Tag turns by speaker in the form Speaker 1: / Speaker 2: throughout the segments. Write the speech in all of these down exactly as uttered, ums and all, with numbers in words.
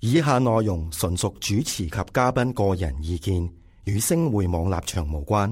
Speaker 1: 以下內容純屬主持及嘉賓個人意見，與星匯網立場無關。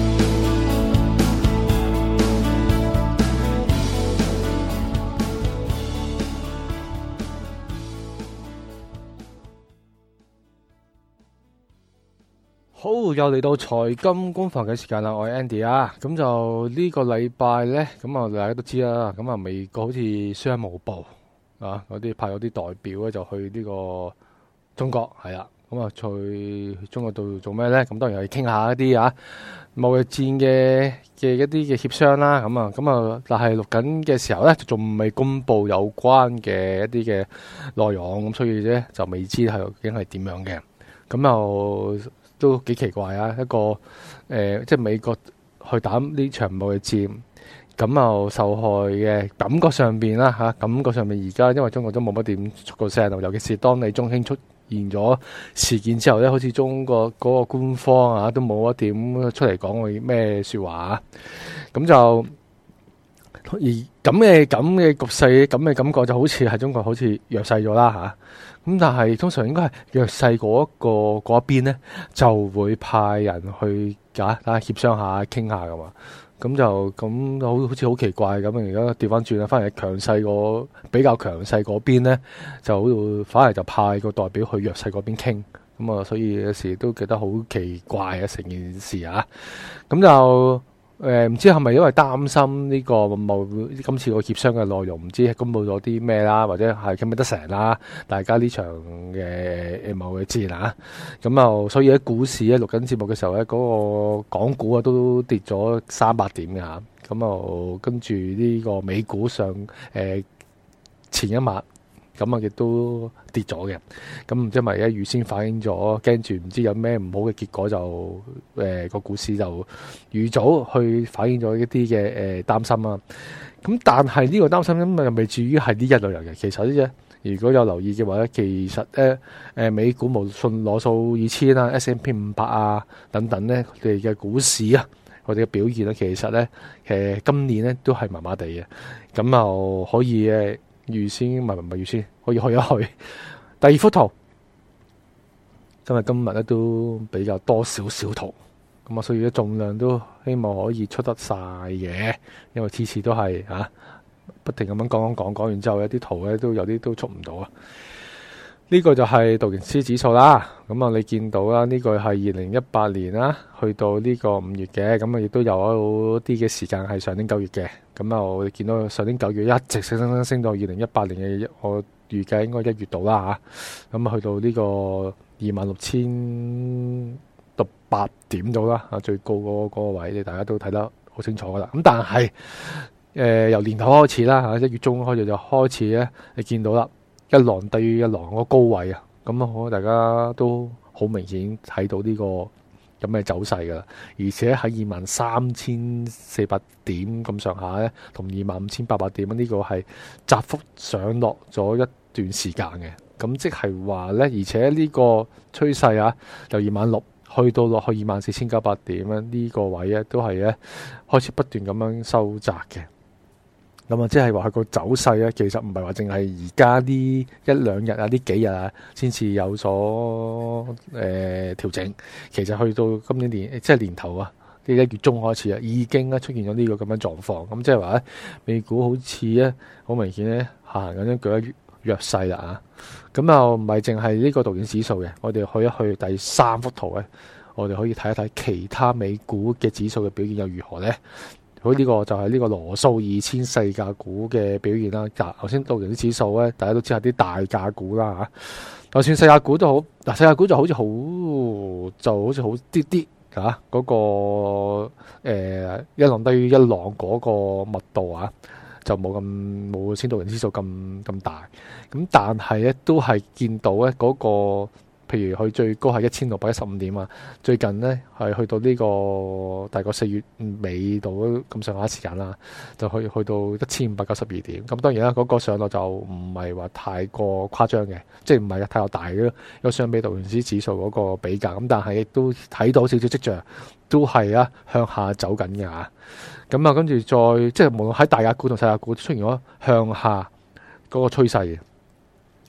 Speaker 2: 好，又嚟到財金工房嘅時間啦，我係 Andy 啊，咁就呢個禮拜呢，咁啊大家都知啦，咁啊美國好似商務部啊嗰啲派咗啲代表咧就去呢個中國係啦，咁啊去中國度做咩呢？咁當然係傾下一啲啊貿易戰嘅嘅一啲嘅協商啦，咁啊咁啊，但係錄緊嘅時候呢，仲未公布有關嘅一啲嘅內容，咁所以呢，就未知係究竟係點樣嘅，咁又。都幾奇怪啊！一個誒、呃，即係美國去打呢場貿易戰，咁又受害嘅感覺上邊啦嚇，感覺上面而家因為中國都冇乜點出過聲，尤其是當你中興出現咗事件之後咧，好似中國嗰個官方啊都冇一點出嚟講過咩説話啊，咁就而咁嘅咁嘅局勢，咁嘅感覺就好似係中國好似弱勢咗啦嚇。咁但係通常應該係弱勢嗰一個嗰一邊咧，就會派人去啊，大家協商下、傾下噶嘛。咁就咁好好似好奇怪咁。而家調翻轉啦，反而係強勢嗰比較強勢嗰邊咧，就好反而就派個代表去弱勢嗰邊傾。咁啊，所以有時都覺得好奇怪啊，成件事啊。咁就。誒、呃、唔知係咪因為擔心呢個冇今次個協商嘅內容，唔知公佈咗啲咩啦，或者係傾唔得成啦？大家呢場嘅貿易戰啊，咁又所以喺股市咧錄緊節目嘅時候咧，嗰、那個港股啊都跌咗三百點嘅嚇，咁又跟住呢個美股上誒、呃、前一晚。咁啊，亦都跌咗嘅。咁唔知係咪咧預先反映咗，驚住唔知有咩唔好嘅結果就，就、呃、誒個股市就預早去反映咗一啲嘅誒擔心啊。咁但係呢個擔心咁又未至於係呢一類人嘅。其實呢，如果有留意嘅話咧，其實咧誒美股無論攞數二千啊、S and P 五百啊等等咧，佢哋嘅股市啊，佢哋嘅表現咧，其實咧誒今年咧都係麻麻地嘅。咁又可以誒。預先唔係唔係預先，可以去一去。第二幅圖，因為今日咧都比較多少少圖，咁啊，所以咧重量都希望可以出得晒嘅，因為次次都係啊，不停咁樣講講講講完之後，有啲圖咧都有啲都出唔到啊。呢、這個就係道瓊斯指數啦，咁啊你見到啦，呢、這個係二零一八年啦，去到呢個五月嘅，咁啊亦都有啲嘅時間係上年九月嘅，咁啊我哋見到上年九月一直升升升升到二零一八年嘅，我預計應該一月度啦吓，咁啊去到呢個二萬六千六百點度啦，啊最高嗰個位，你大家都睇得好清楚噶啦，咁但係誒、呃、由年頭開始啦吓，一月中開始就開始咧，你見到啦。一浪低於一浪嗰個高位啊，咁啊，我大家都好明顯睇到呢個咁嘅走勢噶啦，而且喺二萬三千四百點咁上下咧，同二萬五千八百點呢個係窄幅上落咗一段時間嘅，咁即係話咧，而且呢個趨勢啊，由二萬六去到落去二萬四千九百點咧，呢個位咧都係咧開始不斷咁樣收窄嘅。咁啊，即係話佢個走勢咧，其實唔係話淨係而家呢一兩日啊，呢幾日啊，先至有所誒、呃、調整。其實去到今年年即係年頭啊，呢一月中開始啊，已經咧出現咗呢個咁樣狀況。咁即係話咧，美股好似咧好明顯咧下行緊一舉一弱勢啦啊！咁又唔係淨係呢個道瓊指數嘅，我哋去一去第三幅圖咧，我哋可以睇一睇其他美股嘅指數嘅表現又如何咧？好，呢個就係呢個羅素二千細價股嘅表現啦。嗱，頭先道瓊斯指數咧，大家都知係啲大價股啦嚇。就算細價股都好，嗱細價股就好似好就好似好啲啲嚇嗰個、呃、一浪低於一浪嗰個密度啊，就冇咁冇先道瓊斯指數咁咁大。咁但係咧都係見到咧嗰個。譬如佢最高係一千六百一十五點啊，最近呢係去到呢個大概四月尾度咁上下時間啦，就去去到一千五百九十二點。咁當然啦，嗰、那個上落就唔係話太過誇張嘅，即係唔係太過大嘅，有相比道瓊斯指數嗰個比較。咁但係亦都睇到少少跡象，都係啊向下走緊嘅嚇。咁啊，跟住再即係無論喺大價股同細價股出現咗向下嗰個趨勢。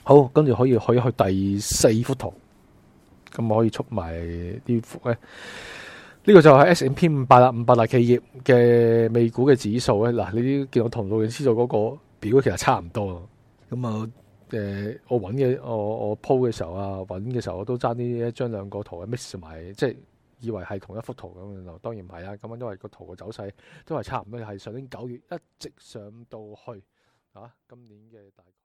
Speaker 2: 好，跟住可以可以去第四幅圖，咁我可以出埋呢幅咧。呢、這個就係 S and P 五百啦，五百大企業嘅美股嘅指數咧。嗱，你啲見我同路嘅知道嗰個表其實差唔多。咁啊，誒，我揾嘅我我 po 嘅時候啊，揾嘅時候我都爭啲將兩個圖 mix 埋，即係以為係同一幅圖咁樣。當然唔係啦，咁因為個圖嘅走勢都係差唔多，係上年九月一直上到去啊，今年嘅大概。